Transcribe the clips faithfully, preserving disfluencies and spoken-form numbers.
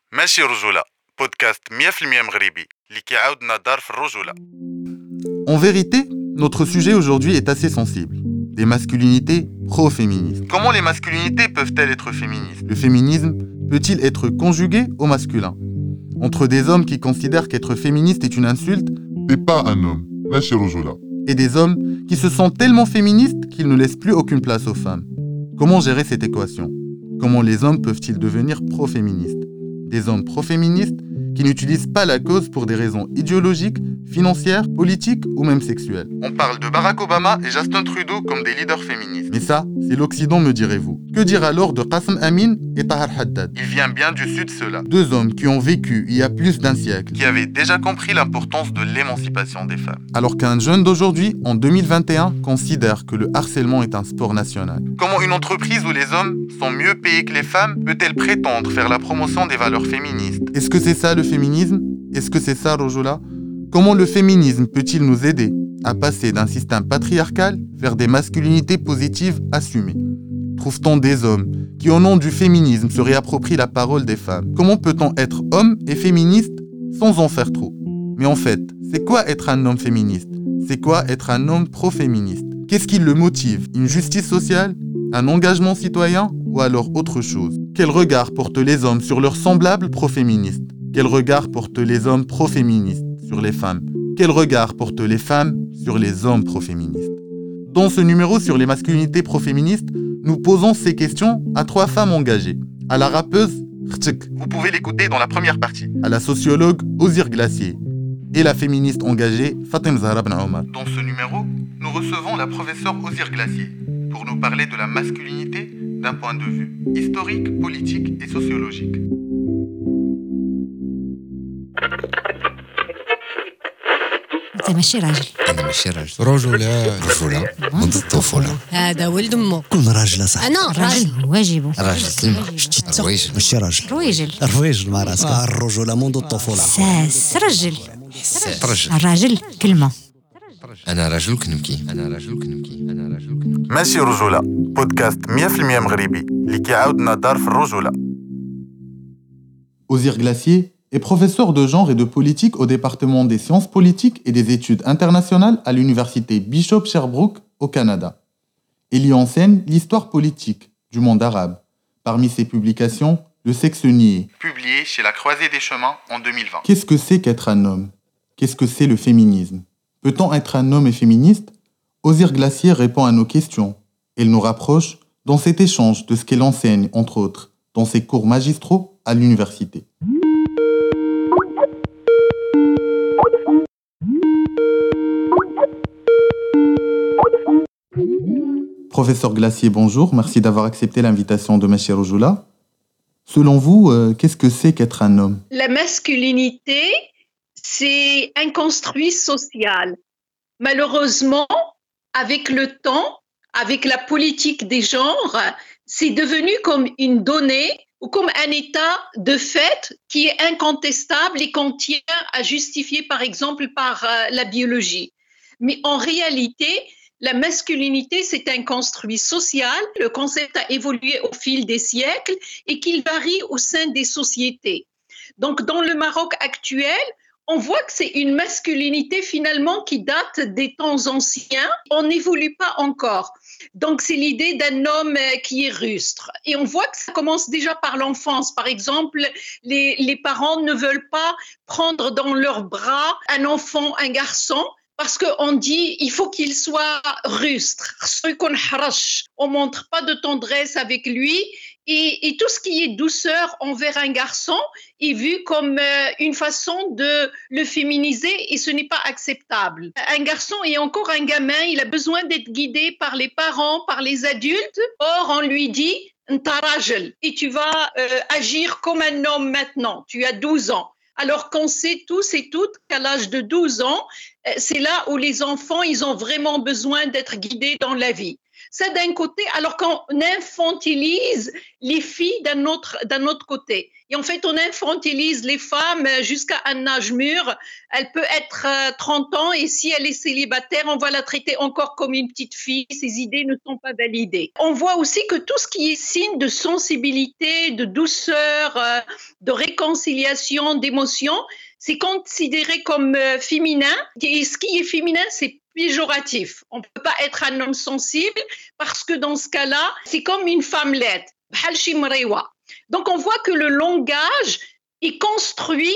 ماشي رجولة بودكاست مية بالمية مغربي اللي كيعاودنا دار في الرجولة. En vérité, notre sujet aujourd'hui est assez sensible. Des masculinités pro-féministes. Comment les masculinités peuvent-elles être féministes? Le féminisme peut-il être conjugué au masculin? Entre des hommes qui considèrent qu'être féministe est une insulte, T'es pas un homme, ماشي رجولة. et des hommes qui se sentent tellement féministes qu'ils ne laissent plus aucune place aux femmes. Comment gérer cette équation? Comment les hommes peuvent-ils devenir pro-féministes? Des hommes pro-féministes qui n'utilisent pas la cause pour des raisons idéologiques, financières, politiques ou même sexuelles. On parle de Barack Obama et Justin Trudeau comme des leaders féministes. Mais ça, c'est l'Occident, me direz-vous. Que dire alors de Qassem Amin et Tahar Haddad? Il vient bien du sud, ceux-là. Deux hommes qui ont vécu il y a plus d'un siècle, qui avaient déjà compris l'importance de l'émancipation des femmes. Alors qu'un jeune d'aujourd'hui, en deux mille vingt et un, considère que le harcèlement est un sport national. Comment une entreprise où les hommes sont mieux payés que les femmes peut-elle prétendre faire la promotion des valeurs féministes? Est-ce que c'est ça le féminisme? Est-ce que c'est ça, Rojola? Comment le féminisme peut-il nous aider à passer d'un système patriarcal vers des masculinités positives assumées? Trouve-t-on des hommes qui, au nom du féminisme, se réapproprient la parole des femmes? Comment peut-on être homme et féministe sans en faire trop? Mais en fait, c'est quoi être un homme féministe? C'est quoi être un homme pro-féministe? Qu'est-ce qui le motive? Une justice sociale? Un engagement citoyen? Ou alors autre chose? Quel regard portent les hommes sur leurs semblables pro-féministes? Quel regard portent les hommes pro-féministes sur les femmes? Quel regard portent les femmes sur les hommes pro-féministes? Dans ce numéro sur les masculinités pro-féministes, nous posons ces questions à trois femmes engagées. À la rappeuse Khtik, vous pouvez l'écouter dans la première partie. À la sociologue Ozir Glacier et la féministe engagée Fatem Zahra Ben Omar. Dans ce numéro, nous recevons la professeure Ozir Glacier pour nous parler de la masculinité d'un point de vue historique, politique et sociologique. انت ماشي راجل. انا ماشي راجل. رجوله رجوله منذ الطفوله. هذا ولد امه. كون راجل صح. انا راجل واجبه. راجل سلمى. رويجل ماشي راجل. رويجل. رويجل مع راسك. الرجوله منذ الطفوله. ساس رجل. رجل. الراجل كلمه. انا راجل كنبكي. انا راجل كنبكي. انا راجل كنبكي. ماشي رجوله بودكاست مية بالمية مغربي اللي كيعاودنا دار في الرجوله. Ozir Glacier est professeur de genre et de politique au département des sciences politiques et des études internationales à l'université Bishop Sherbrooke au Canada. Il y enseigne l'histoire politique du monde arabe. Parmi ses publications, Le sexe nié, publié chez La Croisée des Chemins en deux mille vingt. Qu'est-ce que c'est qu'être un homme? Qu'est-ce que c'est le féminisme? Peut-on être un homme et féministe? Ozir Glacier répond à nos questions. Elle nous rapproche dans cet échange de ce qu'elle enseigne, entre autres, dans ses cours magistraux à l'université. Professeur Glacier, bonjour. Merci d'avoir accepté l'invitation de Meshir Rujula. Selon vous, euh, qu'est-ce que c'est qu'être un homme? La masculinité, c'est un construit social. Malheureusement, avec le temps, avec la politique des genres, c'est devenu comme une donnée ou comme un état de fait qui est incontestable et qu'on tient à justifier, par exemple, par euh, la biologie. Mais en réalité, la masculinité, c'est un construit social. Le concept a évolué au fil des siècles et qu'il varie au sein des sociétés. Donc, dans le Maroc actuel, on voit que c'est une masculinité finalement qui date des temps anciens. On n'évolue pas encore. Donc, c'est l'idée d'un homme qui est rustre. Et on voit que ça commence déjà par l'enfance. Par exemple, les, les parents ne veulent pas prendre dans leurs bras un enfant, un garçon, parce qu'on dit il faut qu'il soit rustre. On ne montre pas de tendresse avec lui. Et, et tout ce qui est douceur envers un garçon est vu comme euh, une façon de le féminiser et ce n'est pas acceptable. Un garçon est encore un gamin, il a besoin d'être guidé par les parents, par les adultes. Or, on lui dit Nta rajel et tu vas euh, agir comme un homme maintenant. Tu as douze ans. Alors qu'on sait tous et toutes qu'à l'âge de douze ans, c'est là où les enfants, ils ont vraiment besoin d'être guidés dans la vie. Ça d'un côté, alors qu'on infantilise les filles d'un autre, d'un autre côté. Et en fait, on infantilise les femmes jusqu'à un âge mûr. Elle peut être trente ans et si elle est célibataire, on va la traiter encore comme une petite fille. Ses idées ne sont pas validées. On voit aussi que tout ce qui est signe de sensibilité, de douceur, de réconciliation, d'émotion, c'est considéré comme féminin. Et ce qui est féminin, c'est péjoratif. On ne peut pas être un homme sensible parce que dans ce cas-là, c'est comme une femme laide. Donc, on voit que le langage est construit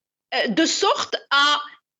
de sorte à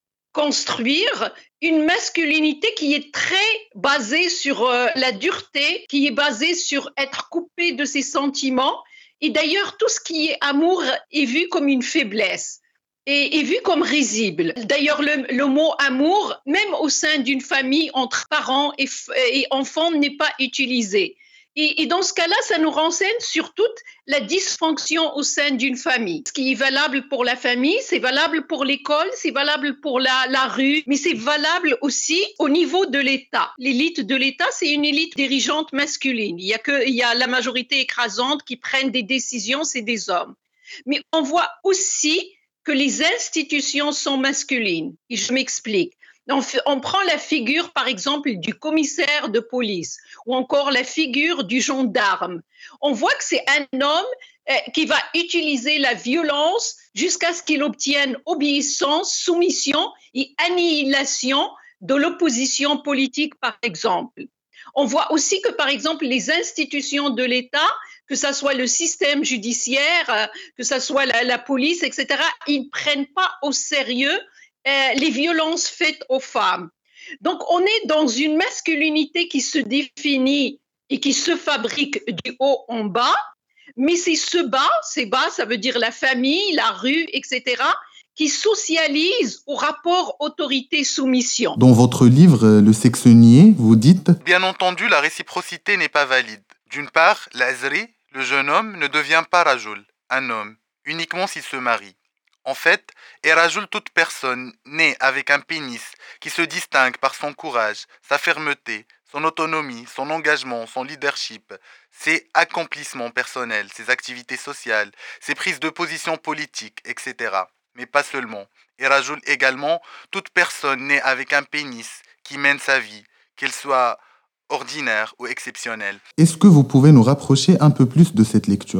construire une masculinité qui est très basée sur la dureté, qui est basée sur être coupé de ses sentiments. Et d'ailleurs, tout ce qui est amour est vu comme une faiblesse. Et est vu comme risible. D'ailleurs, le, le mot amour, même au sein d'une famille, entre parents et, et enfants, n'est pas utilisé. Et, et dans ce cas-là, ça nous renseigne sur toute la dysfonction au sein d'une famille. Ce qui est valable pour la famille, c'est valable pour l'école, c'est valable pour la, la rue, mais c'est valable aussi au niveau de l'État. L'élite de l'État, c'est une élite dirigeante masculine. Il y a que, il y a la majorité écrasante qui prennent des décisions, c'est des hommes. Mais on voit aussi que les institutions sont masculines. Et je m'explique. On, on prend la figure, par exemple, du commissaire de police ou encore la figure du gendarme. On voit que c'est un homme euh, qui va utiliser la violence jusqu'à ce qu'il obtienne obéissance, soumission et annihilation de l'opposition politique, par exemple. On voit aussi que, par exemple, les institutions de l'État, que ce soit le système judiciaire, que ce soit la, la police, et cetera, ils ne prennent pas au sérieux euh, les violences faites aux femmes. Donc, on est dans une masculinité qui se définit et qui se fabrique du haut en bas, mais c'est ce bas, c'est bas, ça veut dire la famille, la rue, et cetera, qui socialise au rapport autorité-soumission. Dans votre livre, Le sexe nié, vous dites « Bien entendu, la réciprocité n'est pas valide. D'une part, l'azri, le jeune homme, ne devient pas rajul, un homme, uniquement s'il se marie. En fait, est rajul toute personne née avec un pénis qui se distingue par son courage, sa fermeté, son autonomie, son engagement, son leadership, ses accomplissements personnels, ses activités sociales, ses prises de position politiques, et cetera. Mais pas seulement. Et rajul également toute personne née avec un pénis qui mène sa vie, qu'elle soit ordinaire ou exceptionnelle. » Est-ce que vous pouvez nous rapprocher un peu plus de cette lecture ?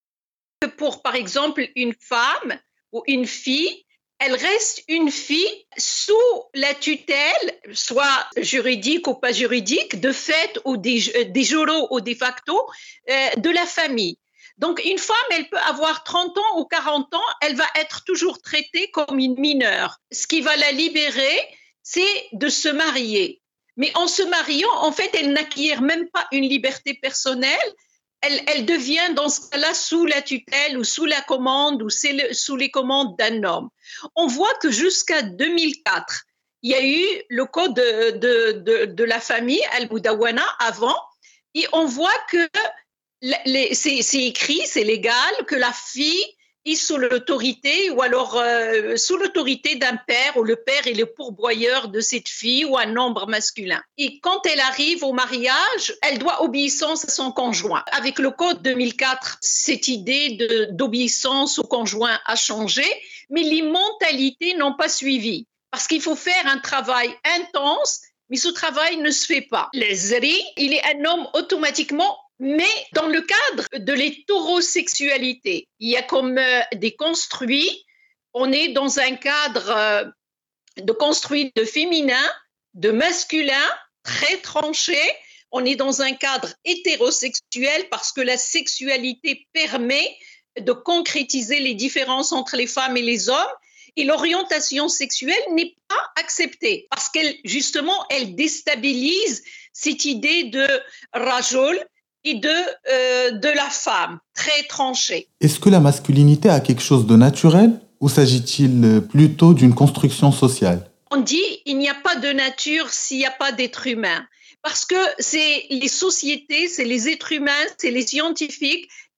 Pour, par exemple, une femme ou une fille, elle reste une fille sous la tutelle, soit juridique ou pas juridique, de fait ou de, de jure ou de facto, euh, de la famille. Donc, une femme, elle peut avoir trente ans ou quarante ans, elle va être toujours traitée comme une mineure. Ce qui va la libérer, c'est de se marier. Mais en se mariant, en fait, elle n'acquiert même pas une liberté personnelle. Elle, elle devient dans ce cas-là sous la tutelle ou sous la commande ou sous les commandes d'un homme. On voit que jusqu'à deux mille quatre, il y a eu le code de, de, de, de la famille, Al-Mudawana, avant, et on voit que les, c'est, c'est écrit, c'est légal, que la fille est sous l'autorité ou alors euh, sous l'autorité d'un père ou le père est le pourvoyeur de cette fille ou un nombre masculin. Et quand elle arrive au mariage, elle doit obéissance à son conjoint. Avec le code deux mille quatre, cette idée de, d'obéissance au conjoint a changé, mais les mentalités n'ont pas suivi. Parce qu'il faut faire un travail intense, mais ce travail ne se fait pas. Le zri, il est un homme automatiquement. Mais dans le cadre de l'hétérosexualité, il y a comme euh, des construits, on est dans un cadre euh, de construit de féminin, de masculin, très tranché. On est dans un cadre hétérosexuel parce que la sexualité permet de concrétiser les différences entre les femmes et les hommes. Et l'orientation sexuelle n'est pas acceptée parce qu'elle, justement, elle déstabilise cette idée de rajul, et de, euh, de la femme, très tranchée. Est-ce que la masculinité a quelque chose de naturel ou s'agit-il plutôt d'une construction sociale ? On dit il n'y a pas de nature s'il n'y a pas d'être humain. Parce que c'est les sociétés, c'est les êtres humains, c'est les scientifiques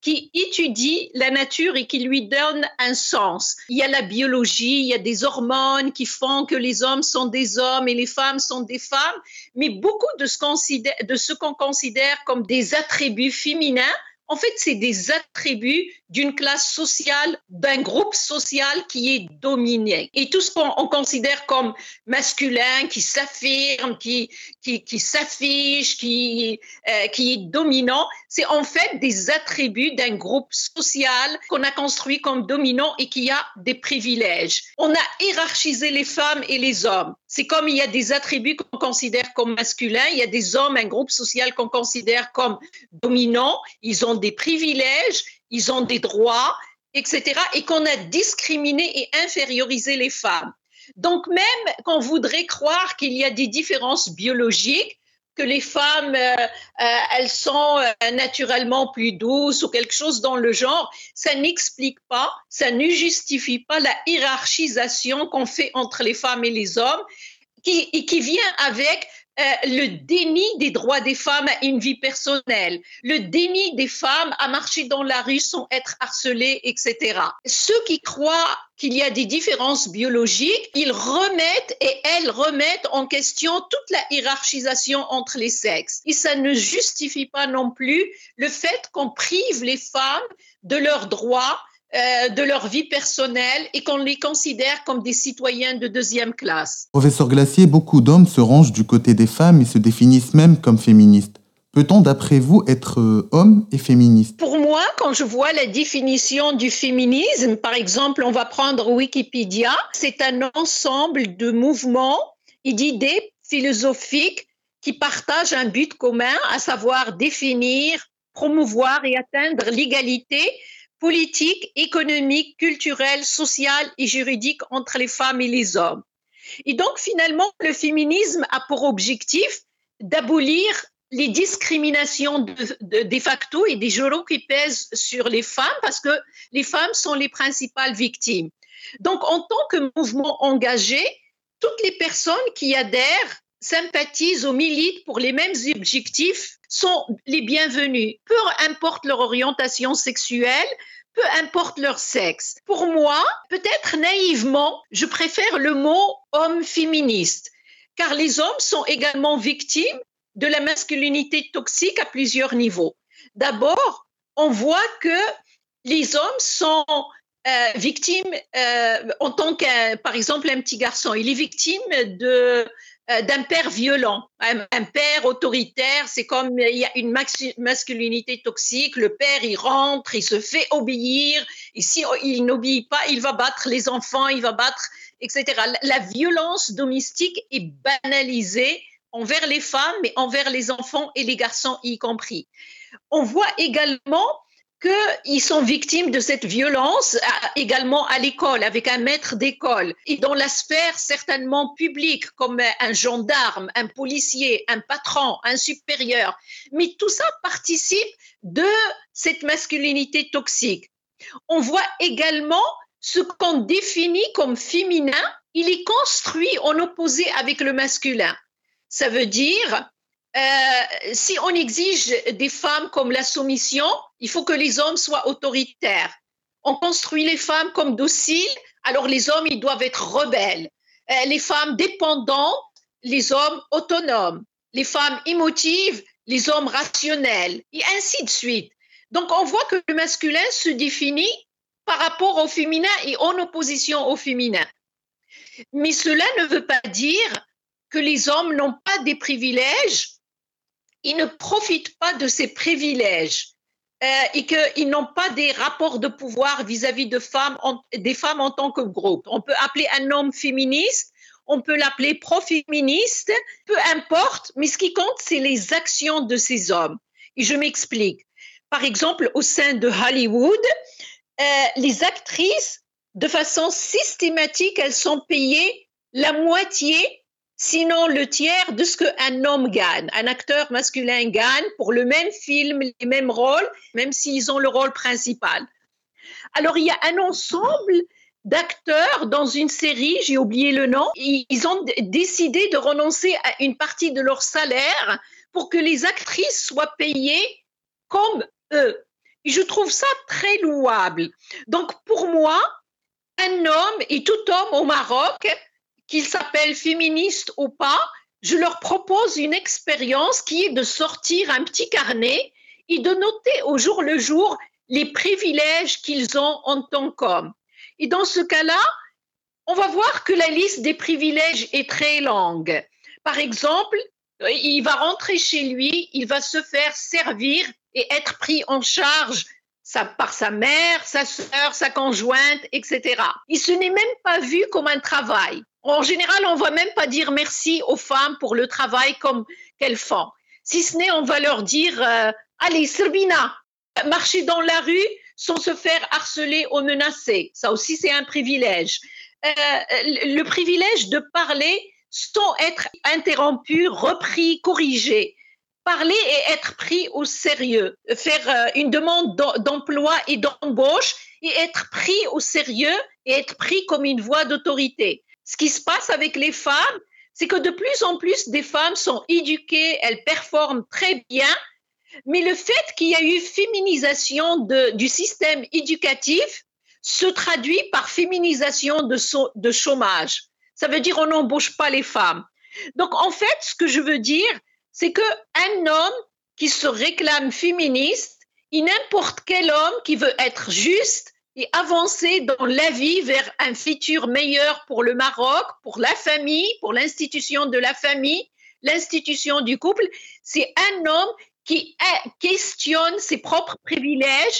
qui étudie la nature et qui lui donne un sens. Il y a la biologie, il y a des hormones qui font que les hommes sont des hommes et les femmes sont des femmes, mais beaucoup de ce qu'on considère, de ce qu'on considère comme des attributs féminins, en fait, c'est des attributs d'une classe sociale, d'un groupe social qui est dominé. Et tout ce qu'on on considère comme masculin, qui s'affirme, qui, qui, qui s'affiche, qui, euh, qui est dominant, c'est en fait des attributs d'un groupe social qu'on a construit comme dominant et qui a des privilèges. On a hiérarchisé les femmes et les hommes. C'est comme il y a des attributs qu'on considère comme masculins, il y a des hommes, un groupe social qu'on considère comme dominant, ils ont des privilèges, ils ont des droits, et cetera, et qu'on a discriminé et infériorisé les femmes. Donc même qu'on voudrait croire qu'il y a des différences biologiques, que les femmes, euh, euh, elles sont euh, naturellement plus douces ou quelque chose dans le genre, ça n'explique pas, ça ne justifie pas la hiérarchisation qu'on fait entre les femmes et les hommes, qui, et qui vient avec Euh, le déni des droits des femmes à une vie personnelle, le déni des femmes à marcher dans la rue sans être harcelées, et cetera. Ceux qui croient qu'il y a des différences biologiques, ils remettent et elles remettent en question toute la hiérarchisation entre les sexes. Et ça ne justifie pas non plus le fait qu'on prive les femmes de leurs droits, Euh, de leur vie personnelle et qu'on les considère comme des citoyens de deuxième classe. Professeur Glacier, beaucoup d'hommes se rangent du côté des femmes et se définissent même comme féministes. Peut-on, d'après vous, être euh, homme et féministe? Pour moi, quand je vois la définition du féminisme, par exemple, on va prendre Wikipédia, c'est un ensemble de mouvements et d'idées philosophiques qui partagent un but commun, à savoir définir, promouvoir et atteindre l'égalité politique, économique, culturelle, sociale et juridique entre les femmes et les hommes. Et donc, finalement, le féminisme a pour objectif d'abolir les discriminations de, de, de facto et de jure qui pèsent sur les femmes parce que les femmes sont les principales victimes. Donc, en tant que mouvement engagé, toutes les personnes qui adhèrent, sympathisent ou militent pour les mêmes objectifs sont les bienvenus, peu importe leur orientation sexuelle, peu importe leur sexe. Pour moi, peut-être naïvement, je préfère le mot homme féministe, car les hommes sont également victimes de la masculinité toxique à plusieurs niveaux. D'abord, on voit que les hommes sont euh, victimes, euh, en tant qu'un, par exemple, un petit garçon, il est victime de d'un père violent, un, un père autoritaire, c'est comme il y a une masculinité toxique, le père il rentre, il se fait obéir, et si il n'obéit pas, il va battre les enfants, il va battre, et cetera. La, la violence domestique est banalisée envers les femmes, mais envers les enfants et les garçons y compris. On voit également qu'ils sont victimes de cette violence également à l'école, avec un maître d'école, et dans la sphère certainement publique, comme un gendarme, un policier, un patron, un supérieur. Mais tout ça participe de cette masculinité toxique. On voit également ce qu'on définit comme féminin, il est construit en opposé avec le masculin. Ça veut dire... Euh, si on exige des femmes comme la soumission, il faut que les hommes soient autoritaires. On construit les femmes comme dociles, alors les hommes, ils doivent être rebelles. Euh, les femmes dépendantes, les hommes autonomes. Les femmes émotives, les hommes rationnels, et ainsi de suite. Donc, on voit que le masculin se définit par rapport au féminin et en opposition au féminin. Mais cela ne veut pas dire que les hommes n'ont pas des privilèges. Ils ne profitent pas de ces privilèges euh, et qu'ils n'ont pas des rapports de pouvoir vis-à-vis de femmes, en, des femmes en tant que groupe. On peut appeler un homme féministe, on peut l'appeler pro-féministe, peu importe, mais ce qui compte, c'est les actions de ces hommes. Et je m'explique. Par exemple, au sein de Hollywood, euh, les actrices, de façon systématique, elles sont payées la moitié, sinon le tiers de ce qu'un homme gagne. Un acteur masculin gagne pour le même film, les mêmes rôles, même s'ils ont le rôle principal. Alors, il y a un ensemble d'acteurs dans une série, j'ai oublié le nom, ils ont décidé de renoncer à une partie de leur salaire pour que les actrices soient payées comme eux. Et je trouve ça très louable. Donc, pour moi, un homme et tout homme au Maroc, qu'il s'appelle féministe ou pas, je leur propose une expérience qui est de sortir un petit carnet et de noter au jour le jour les privilèges qu'ils ont en tant qu'hommes. Et dans ce cas-là, on va voir que la liste des privilèges est très longue. Par exemple, il va rentrer chez lui, il va se faire servir et être pris en charge par sa mère, sa sœur, sa conjointe, et cetera. Et ce n'est même pas vu comme un travail. En général, on ne va même pas dire merci aux femmes pour le travail comme qu'elles font. Si ce n'est, on va leur dire euh, « Allez, Serbina, marcher dans la rue sans se faire harceler ou menacer. » Ça aussi, c'est un privilège. Euh, le privilège de parler sans être interrompu, repris, corrigé. Parler et être pris au sérieux. Faire euh, une demande d'emploi et d'embauche et être pris au sérieux et être pris comme une voix d'autorité. Ce qui se passe avec les femmes, c'est que de plus en plus des femmes sont éduquées, elles performent très bien, mais le fait qu'il y a eu féminisation de, du système éducatif se traduit par féminisation de, so, de chômage. Ça veut dire on n'embauche pas les femmes. Donc en fait, ce que je veux dire, c'est qu'un homme qui se réclame féministe et n'importe quel homme qui veut être juste et avancer dans la vie vers un futur meilleur pour le Maroc, pour la famille, pour l'institution de la famille, l'institution du couple, c'est un homme qui questionne ses propres privilèges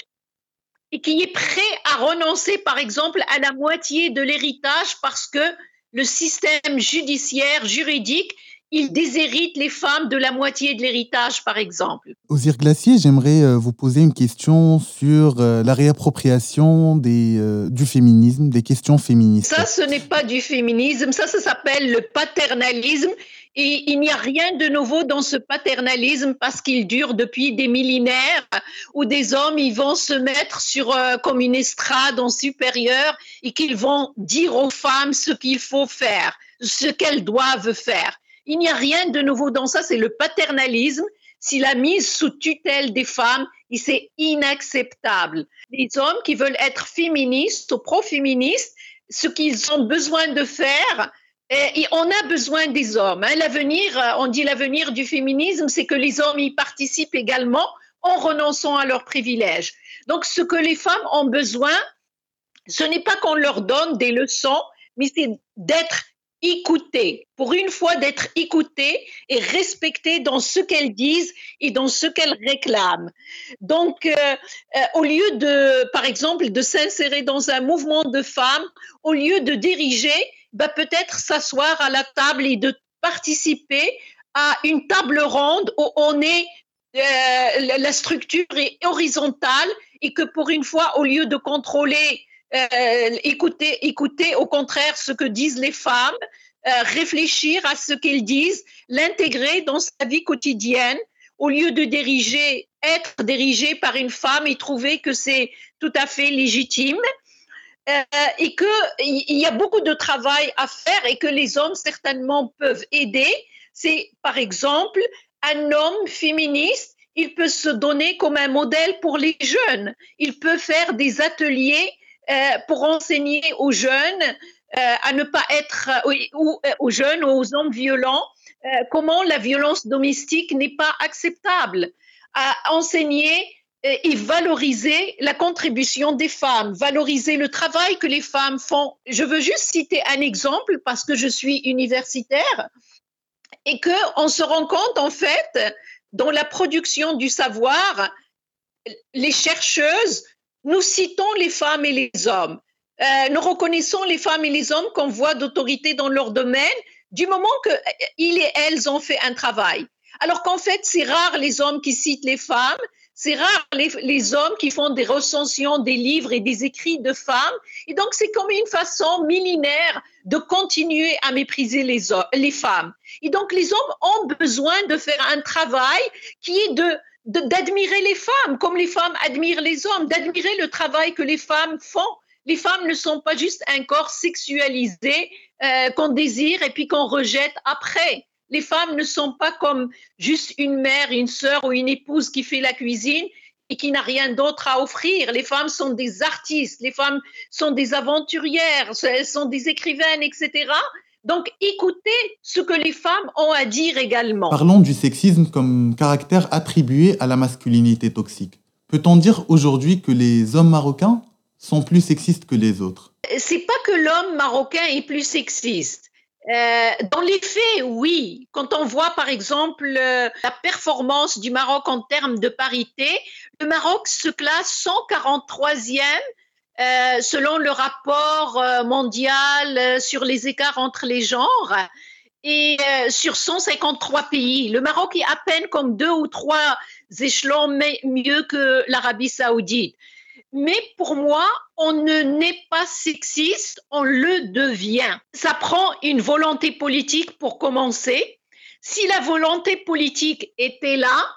et qui est prêt à renoncer, par exemple, à la moitié de l'héritage parce que le système judiciaire, juridique, il déshérite les femmes de la moitié de l'héritage, par exemple. Ozir Glacier, j'aimerais euh, vous poser une question sur euh, la réappropriation des, euh, du féminisme, des questions féministes. Ça, ce n'est pas du féminisme, ça, ça s'appelle le paternalisme. Et il n'y a rien de nouveau dans ce paternalisme parce qu'il dure depuis des millénaires où des hommes ils vont se mettre sur euh, comme une estrade en supérieur et qu'ils vont dire aux femmes ce qu'il faut faire, ce qu'elles doivent faire. Il n'y a rien de nouveau dans ça, c'est le paternalisme, c'est la mise sous tutelle des femmes et c'est inacceptable. Les hommes qui veulent être féministes ou pro-féministes, ce qu'ils ont besoin de faire, et on a besoin des hommes. Hein. L'avenir, on dit l'avenir du féminisme, c'est que les hommes y participent également en renonçant à leurs privilèges. Donc, ce que les femmes ont besoin, ce n'est pas qu'on leur donne des leçons, mais c'est d'être écoutées. Pour une fois, d'être écoutées et respectées dans ce qu'elles disent et dans ce qu'elles réclament. Donc, euh, euh, au lieu de, par exemple, de s'insérer dans un mouvement de femmes, au lieu de diriger, bah, peut-être s'asseoir à la table et de participer à une table ronde où on est, euh, la structure est horizontale et que pour une fois, au lieu de contrôler, euh, écouter, écouter au contraire ce que disent les femmes, euh, réfléchir à ce qu'elles disent, l'intégrer dans sa vie quotidienne, au lieu de diriger, être dirigé par une femme et trouver que c'est tout à fait légitime. Euh, et qu'il y a beaucoup de travail à faire et que les hommes certainement peuvent aider. C'est par exemple un homme féministe, il peut se donner comme un modèle pour les jeunes. Il peut faire des ateliers euh, pour enseigner aux jeunes euh, à ne pas être, ou aux jeunes ou aux hommes violents, euh, comment la violence domestique n'est pas acceptable. À enseigner et valoriser la contribution des femmes, valoriser le travail que les femmes font. Je veux juste citer un exemple parce que je suis universitaire et qu'on se rend compte en fait dans la production du savoir, les chercheuses, nous citons les femmes et les hommes. Euh, nous reconnaissons les femmes et les hommes comme voix d'autorité dans leur domaine du moment qu'ils et elles ont fait un travail. Alors qu'en fait, c'est rare les hommes qui citent les femmes. C'est rare les, les hommes qui font des recensions des livres et des écrits de femmes. Et donc, c'est comme une façon millénaire de continuer à mépriser les, les femmes. Et donc, les hommes ont besoin de faire un travail qui est de, de, d'admirer les femmes, comme les femmes admirent les hommes, d'admirer le travail que les femmes font. Les femmes ne sont pas juste un corps sexualisé euh, qu'on désire et puis qu'on rejette après. Les femmes ne sont pas comme juste une mère, une sœur ou une épouse qui fait la cuisine et qui n'a rien d'autre à offrir. Les femmes sont des artistes, les femmes sont des aventurières, elles sont des écrivaines, et cetera. Donc, écoutez ce que les femmes ont à dire également. Parlons du sexisme comme caractère attribué à la masculinité toxique. Peut-on dire aujourd'hui que les hommes marocains sont plus sexistes que les autres? C'est pas que l'homme marocain est plus sexiste. Euh, dans les faits, oui. Quand on voit, par exemple, euh, la performance du Maroc en termes de parité, le Maroc se classe cent quarante-troisième euh, selon le rapport euh, mondial euh, sur les écarts entre les genres et euh, sur cent cinquante-trois pays. Le Maroc est à peine comme deux ou trois échelons mieux que l'Arabie saoudite. Mais pour moi, on ne n'est pas sexiste, on le devient. Ça prend une volonté politique pour commencer. Si la volonté politique était là,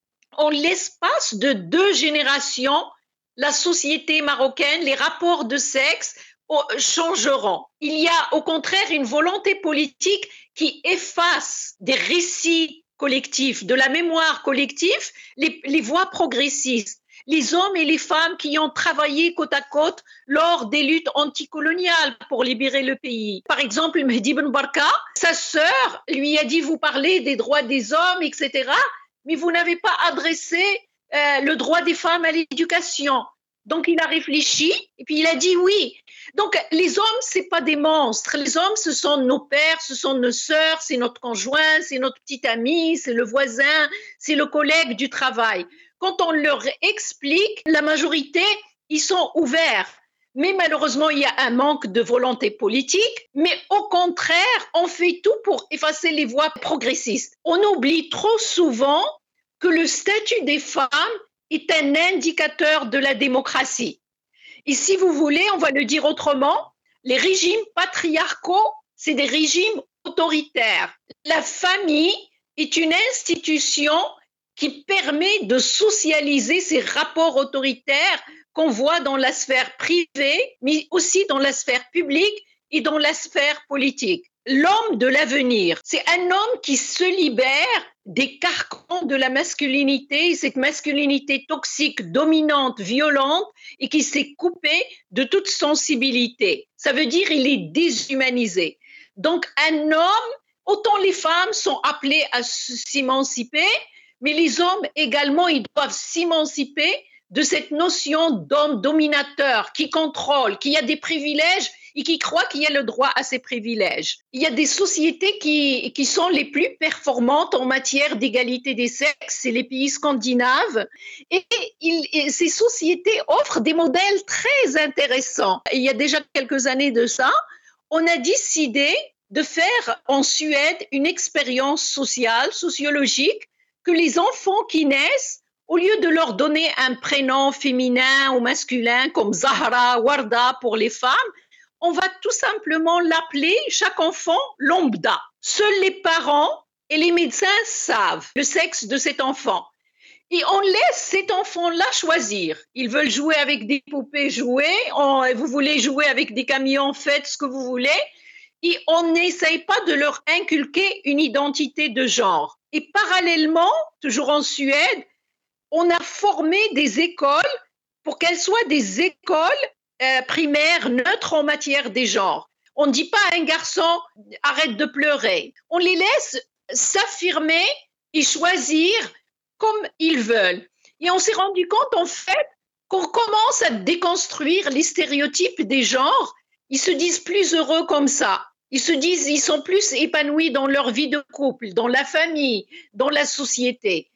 en l'espace de deux générations, la société marocaine, les rapports de sexe changeront. Il y a au contraire une volonté politique qui efface des récits collectifs, de la mémoire collective, les, les voix progressistes. Les hommes et les femmes qui ont travaillé côte à côte lors des luttes anticoloniales pour libérer le pays. Par exemple, Mehdi Ben Barka, sa sœur lui a dit « Vous parlez des droits des hommes, et cetera, mais vous n'avez pas adressé euh, le droit des femmes à l'éducation. » Donc, il a réfléchi et puis il a dit « Oui ». Donc, les hommes, ce n'est pas des monstres. Les hommes, ce sont nos pères, ce sont nos sœurs, c'est notre conjoint, c'est notre petit ami, c'est le voisin, c'est le collègue du travail. Quand on leur explique, la majorité, ils sont ouverts. Mais malheureusement, il y a un manque de volonté politique. Mais au contraire, on fait tout pour effacer les voix progressistes. On oublie trop souvent que le statut des femmes est un indicateur de la démocratie. Et si vous voulez, on va le dire autrement, les régimes patriarcaux, c'est des régimes autoritaires. La famille est une institution qui permet de socialiser ces rapports autoritaires qu'on voit dans la sphère privée, mais aussi dans la sphère publique et dans la sphère politique. L'homme de l'avenir, c'est un homme qui se libère des carcans de la masculinité, cette masculinité toxique, dominante, violente, et qui s'est coupé de toute sensibilité. Ça veut dire qu'il est déshumanisé. Donc un homme, autant les femmes sont appelées à s'émanciper, mais les hommes également, ils doivent s'émanciper de cette notion d'homme dominateur qui contrôle, qui a des privilèges et qui croit qu'il y a le droit à ces privilèges. Il y a des sociétés qui, qui sont les plus performantes en matière d'égalité des sexes, c'est les pays scandinaves, et, il, et ces sociétés offrent des modèles très intéressants. Il y a déjà quelques années de ça, on a décidé de faire en Suède une expérience sociale, sociologique, que les enfants qui naissent, au lieu de leur donner un prénom féminin ou masculin comme Zahra, Warda pour les femmes, on va tout simplement l'appeler, chaque enfant, lambda. Seuls les parents et les médecins savent le sexe de cet enfant. Et on laisse cet enfant-là choisir. Ils veulent jouer avec des poupées, jouer. On, vous voulez jouer avec des camions, faites ce que vous voulez. Et on n'essaye pas de leur inculquer une identité de genre. Et parallèlement, toujours en Suède, on a formé des écoles pour qu'elles soient des écoles euh, primaires neutres en matière des genres. On ne dit pas à un garçon « arrête de pleurer ». On les laisse s'affirmer et choisir comme ils veulent. Et on s'est rendu compte en fait qu'on commence à déconstruire les stéréotypes des genres. Ils se disent plus heureux comme ça. Ils se disent, ils sont plus épanouis dans leur vie de couple, dans la famille, dans la société.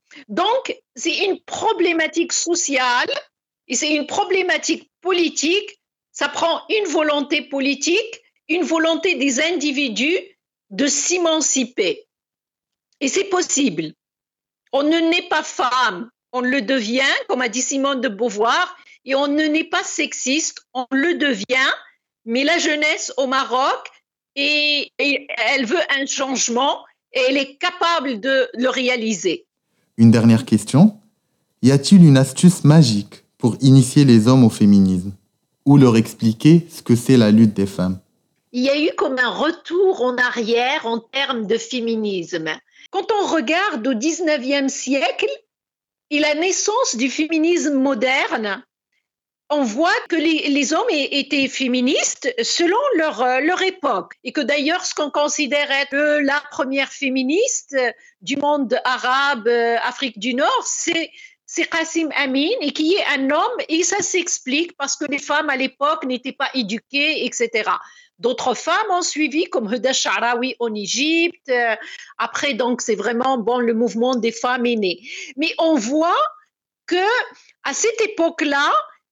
Donc, c'est une problématique sociale et c'est une problématique politique. Ça prend une volonté politique, une volonté des individus de s'émanciper. Et c'est possible. On ne naît pas femme, on le devient, comme a dit Simone de Beauvoir, et on ne naît pas sexiste, on le devient. Mais la jeunesse au Maroc, et, et elle veut un changement et elle est capable de le réaliser. Une dernière question. Y a-t-il une astuce magique pour initier les hommes au féminisme ou leur expliquer ce que c'est la lutte des femmes? Il y a eu comme un retour en arrière en termes de féminisme. Quand on regarde au dix-neuvième siècle, et la naissance du féminisme moderne, on voit que les, les hommes étaient féministes selon leur, leur époque. Et que d'ailleurs, ce qu'on considère être la première féministe du monde arabe, Afrique du Nord, c'est, c'est Qassim Amin, et qui est un homme, et ça s'explique parce que les femmes à l'époque n'étaient pas éduquées, et cetera. D'autres femmes ont suivi, comme Huda Sha'rawi en Égypte. Après, donc, c'est vraiment bon, le mouvement des femmes est né. Mais on voit que à cette époque-là,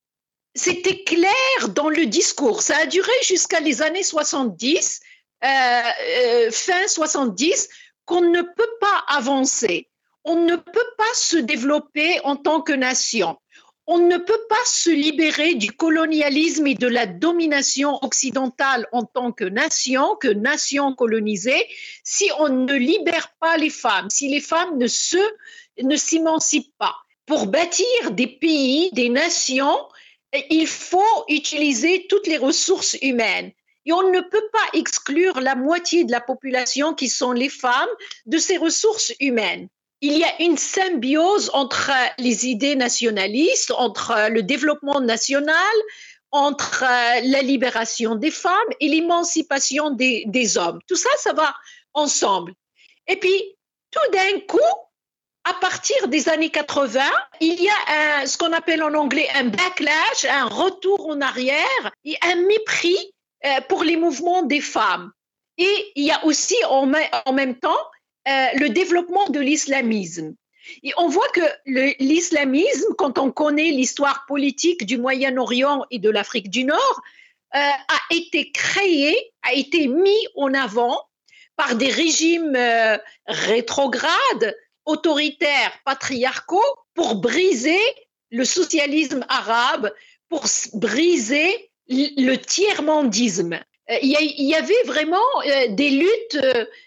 c'était clair dans le discours. Ça a duré jusqu'à les années soixante-dix, euh, euh, fin soixante-dix, qu'on ne peut pas avancer. On ne peut pas se développer en tant que nation. On ne peut pas se libérer du colonialisme et de la domination occidentale en tant que nation, que nation colonisée, si on ne libère pas les femmes, si les femmes ne se, ne s'émancipent pas. Pour bâtir des pays, des nations, il faut utiliser toutes les ressources humaines. Et on ne peut pas exclure la moitié de la population qui sont les femmes de ces ressources humaines. Il y a une symbiose entre les idées nationalistes, entre le développement national, entre la libération des femmes et l'émancipation des, des hommes. Tout ça, ça va ensemble. Et puis, tout d'un coup, à partir des années quatre-vingts, il y a un, ce qu'on appelle en anglais un backlash, un retour en arrière et un mépris euh, pour les mouvements des femmes. Et il y a aussi en, en même temps euh, le développement de l'islamisme. Et on voit que le, l'islamisme, quand on connaît l'histoire politique du Moyen-Orient et de l'Afrique du Nord, euh, a été créé, a été mis en avant par des régimes euh, rétrogrades, autoritaires, patriarcaux, pour briser le socialisme arabe, pour briser le tiers-mondisme. Il y avait vraiment des luttes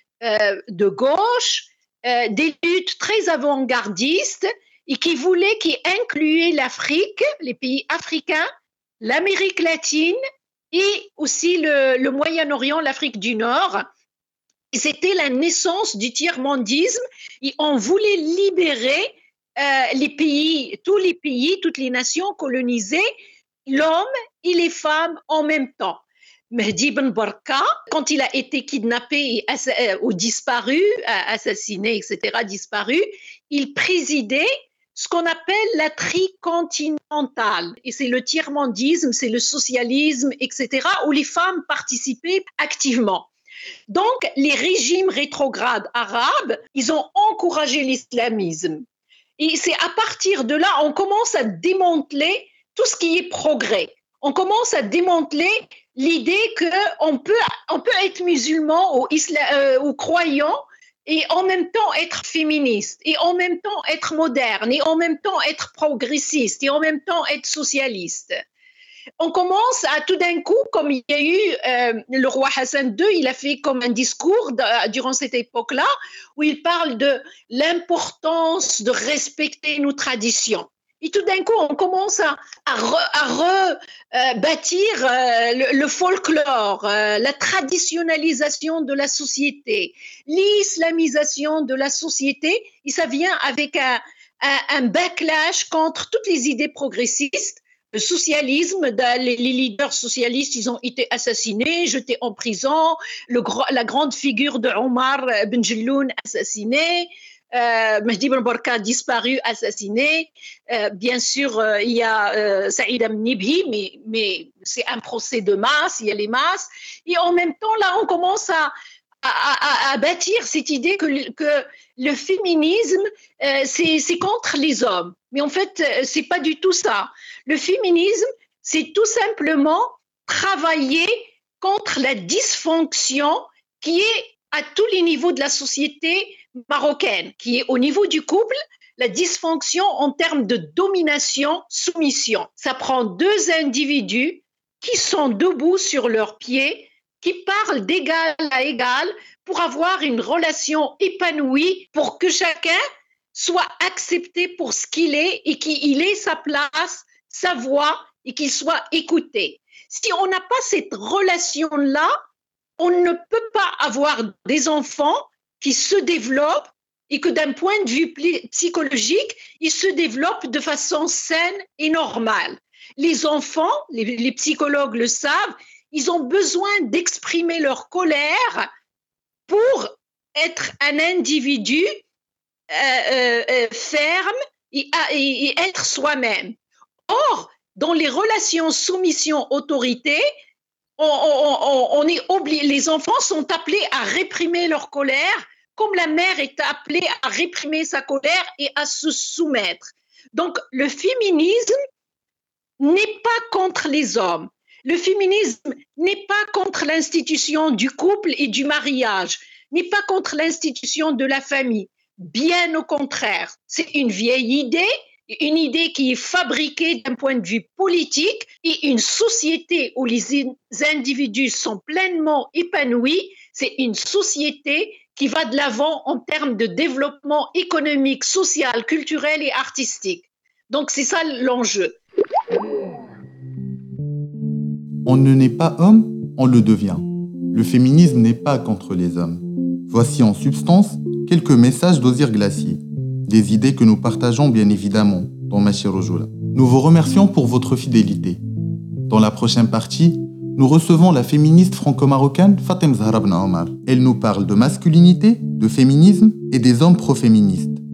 de gauche, des luttes très avant-gardistes et qui voulaient, qui incluaient l'Afrique, les pays africains, l'Amérique latine et aussi le, le Moyen-Orient, l'Afrique du Nord. C'était la naissance du tiers-mondisme et on voulait libérer euh, les pays, tous les pays, toutes les nations colonisées, l'homme et les femmes en même temps. Mehdi Ben Barka, quand il a été kidnappé ou disparu, assassiné, et cetera, disparu, il présidait ce qu'on appelle la tricontinentale. Et c'est le tiers-mondisme, c'est le socialisme, et cetera, où les femmes participaient activement. Donc, les régimes rétrogrades arabes, ils ont encouragé l'islamisme. Et c'est à partir de là, on commence à démanteler tout ce qui est progrès. On commence à démanteler l'idée qu'on peut, on peut être musulman ou, isla, euh, ou croyant et en même temps être féministe, et en même temps être moderne, et en même temps être progressiste, et en même temps être socialiste. On commence à tout d'un coup, comme il y a eu euh, le roi Hassan deux, il a fait comme un discours de, durant cette époque-là, où il parle de l'importance de respecter nos traditions. Et tout d'un coup, on commence à, à, re, à rebâtir euh, euh, le, le folklore, euh, la traditionnalisation de la société, l'islamisation de la société, et ça vient avec un, un, un backlash contre toutes les idées progressistes. Le socialisme, les leaders socialistes, ils ont été assassinés, jetés en prison, le, la grande figure de Omar Ben Jelloun assassiné, euh, Mehdi Ben Barka disparu, assassiné. Euh, bien sûr, euh, il y a euh, Saïd Amnibhi, mais, mais c'est un procès de masse, il y a les masses. Et en même temps, là, on commence à, à, à, à bâtir cette idée que, que le féminisme, euh, c'est, c'est contre les hommes. Mais en fait, c'est pas du tout ça. Le féminisme, c'est tout simplement travailler contre la dysfonction qui est à tous les niveaux de la société marocaine, qui est au niveau du couple, la dysfonction en termes de domination, soumission. Ça prend deux individus qui sont debout sur leurs pieds, qui parlent d'égal à égal pour avoir une relation épanouie, pour que chacun soit accepté pour ce qu'il est et qu'il ait sa place, sa voix et qu'il soit écouté. Si on n'a pas cette relation-là, on ne peut pas avoir des enfants qui se développent et que d'un point de vue psychologique, ils se développent de façon saine et normale. Les enfants, les, les psychologues le savent, ils ont besoin d'exprimer leur colère pour être un individu euh, euh, ferme et, et, et être soi-même. Or, dans les relations soumission-autorité, on, on, on est obligé, les enfants sont appelés à réprimer leur colère, comme la mère est appelée à réprimer sa colère et à se soumettre. Donc, le féminisme n'est pas contre les hommes. Le féminisme n'est pas contre l'institution du couple et du mariage, n'est pas contre l'institution de la famille. Bien au contraire, c'est une vieille idée, une idée qui est fabriquée d'un point de vue politique, et une société où les individus sont pleinement épanouis, c'est une société qui va de l'avant en termes de développement économique, social, culturel et artistique. Donc c'est ça l'enjeu. On ne naît pas homme, on le devient. Le féminisme n'est pas contre les hommes. Voici en substance quelques messages d'Ozir Glacier. Des idées que nous partageons bien évidemment dans Machi Rojoula. Nous vous remercions pour votre fidélité. Dans la prochaine partie, nous recevons la féministe franco-marocaine Fatem Zahra Ben Omar. Elle nous parle de masculinité, de féminisme et des hommes pro-féministes.